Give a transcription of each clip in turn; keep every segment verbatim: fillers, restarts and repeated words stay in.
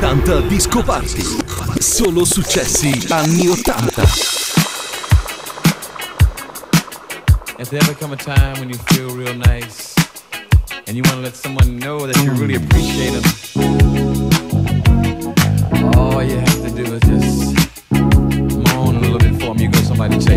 ottanta Disco Party. Solo successi anni ottanta. Has there ever come a time when you feel real nice and you want to let someone know that you really appreciate them? All you have to do is just moan a little bit for them. You go somebody check.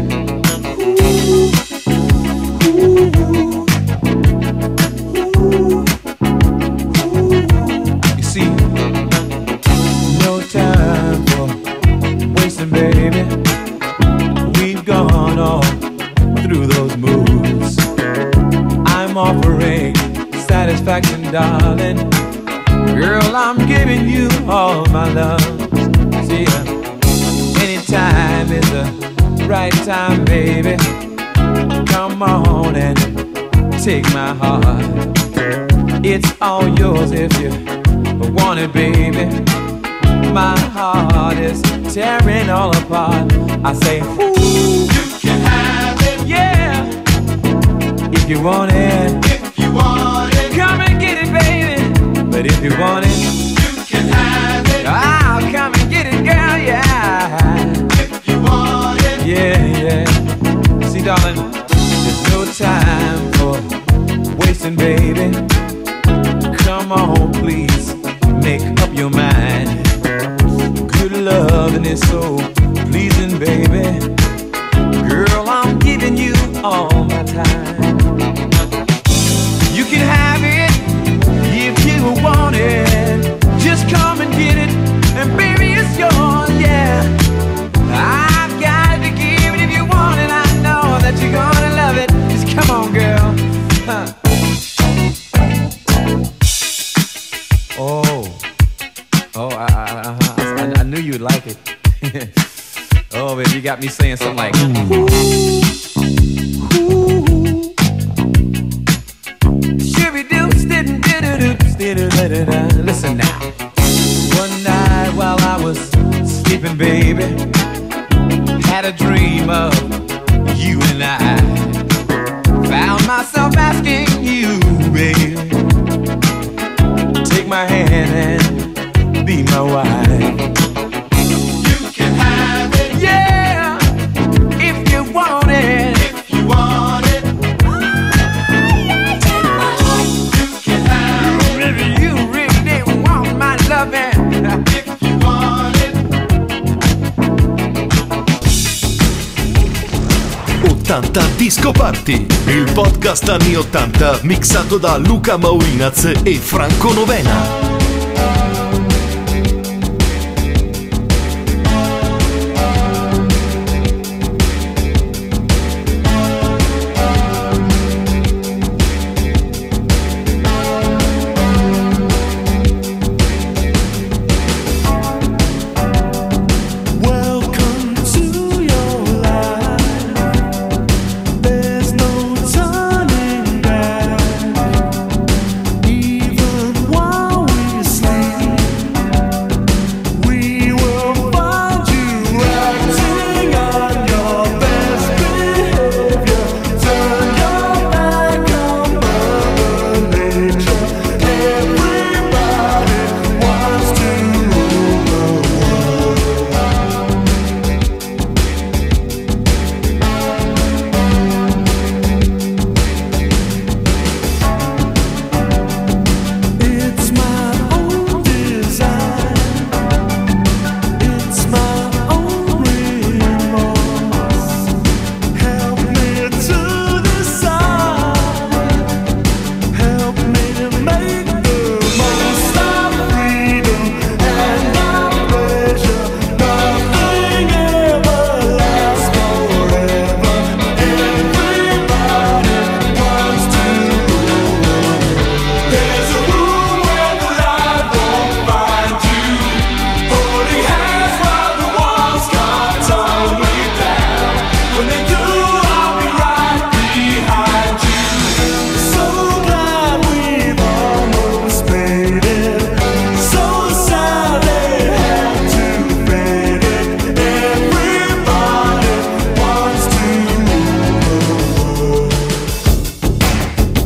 You see, no time for wasting, baby. We've gone all through those moves. I'm offering satisfaction, darling. Girl, I'm giving you all my love. See, uh, anytime is the right time, baby. Come on and take my heart. It's all yours if you want it, baby. My heart is tearing all apart. I say, ooh, you can have it, yeah. If you want it, if you want it, come and get it, baby. But if you want it, you can have it. I'll come and get it, girl, yeah. If you want it, yeah, yeah. See, darling, there's no time for wasting, baby. Come on, please, make up your mind. Good loving is so pleasing, baby. Girl, I'm giving you all my time. You can have it if you want it. Just come and get it, and baby, it's yours, yeah. I've got to give it if you want it. I know that you're gonna love it. Just come on, girl. Huh. Oh, oh, I, I, I, I knew you'd like it. Oh, baby, you got me saying something like, ooh, ooh. Listen now. One night while I was sleeping, baby, had a dream of you and I. Found myself asking you, baby, take my hand and be my wife. You can have it, yeah, if you want it. If you want it, you can have it. Baby, you really didn't want my loving. If you want it. ottanta Disco Party, il podcast anni ottanta mixato da Luca Maurinaz e Franco Novena.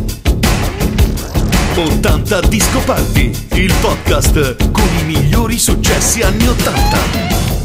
ottanta Disco Party, il podcast con i migliori successi successi anni ottanta.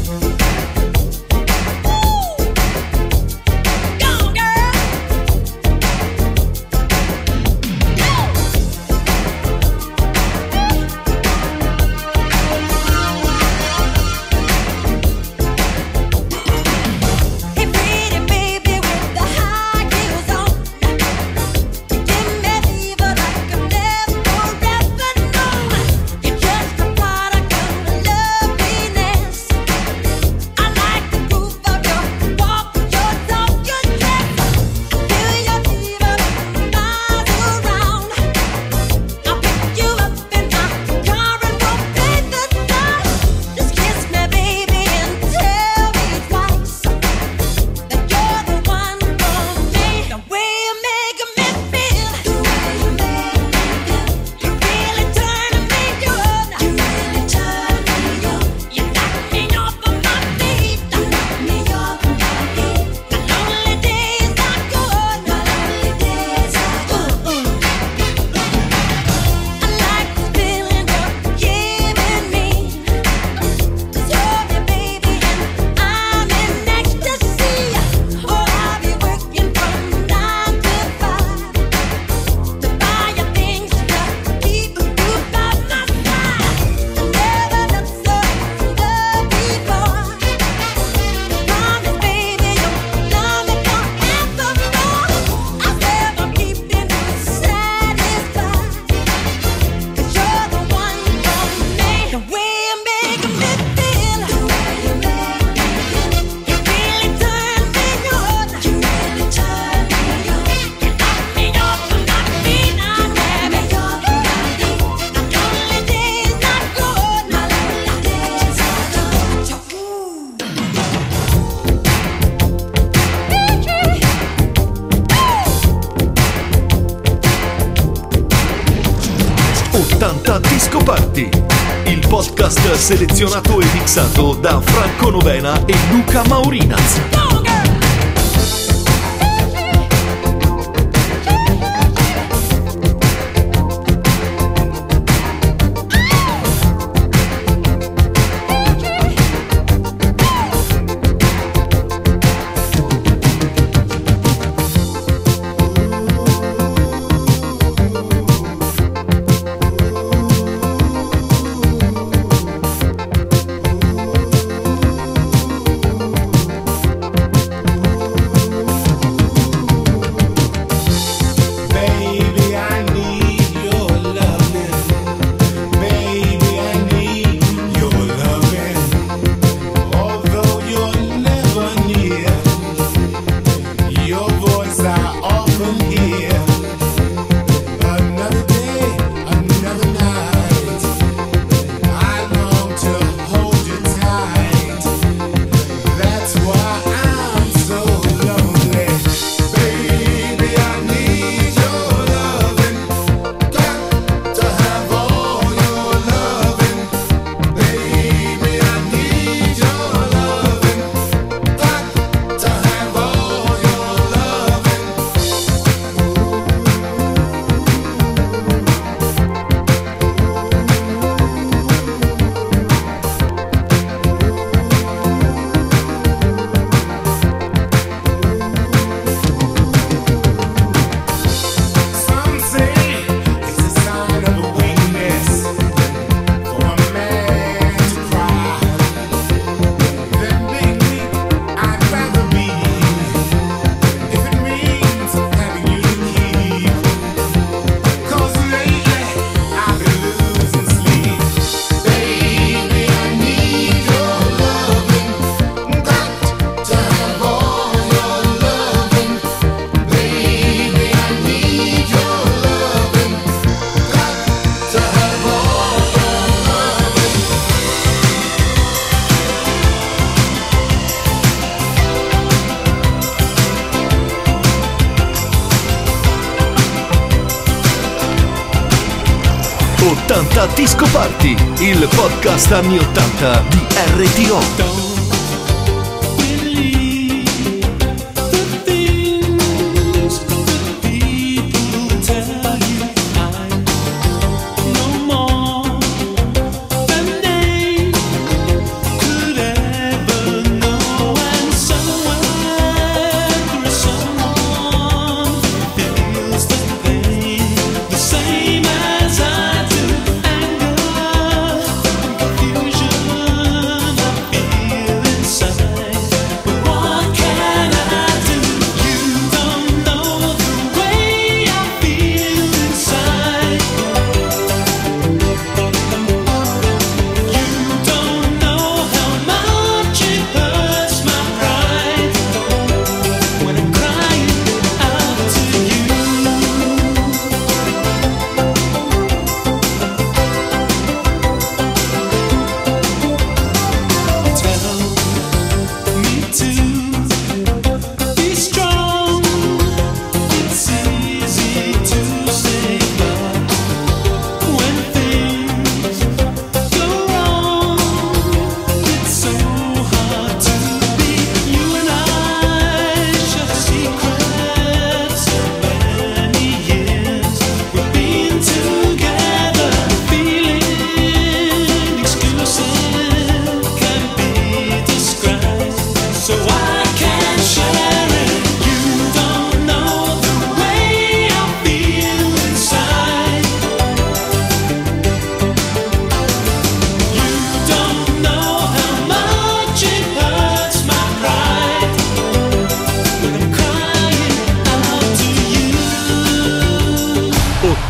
ottanta Disco Party, il podcast selezionato e mixato da Franco Novena e Luca Maurinaz. ottanta Disco Party, il podcast anni ottanta di R T O.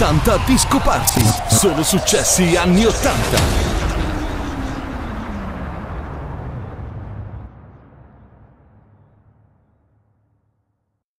ottanta Disco Party. Solo successi anni ottanta.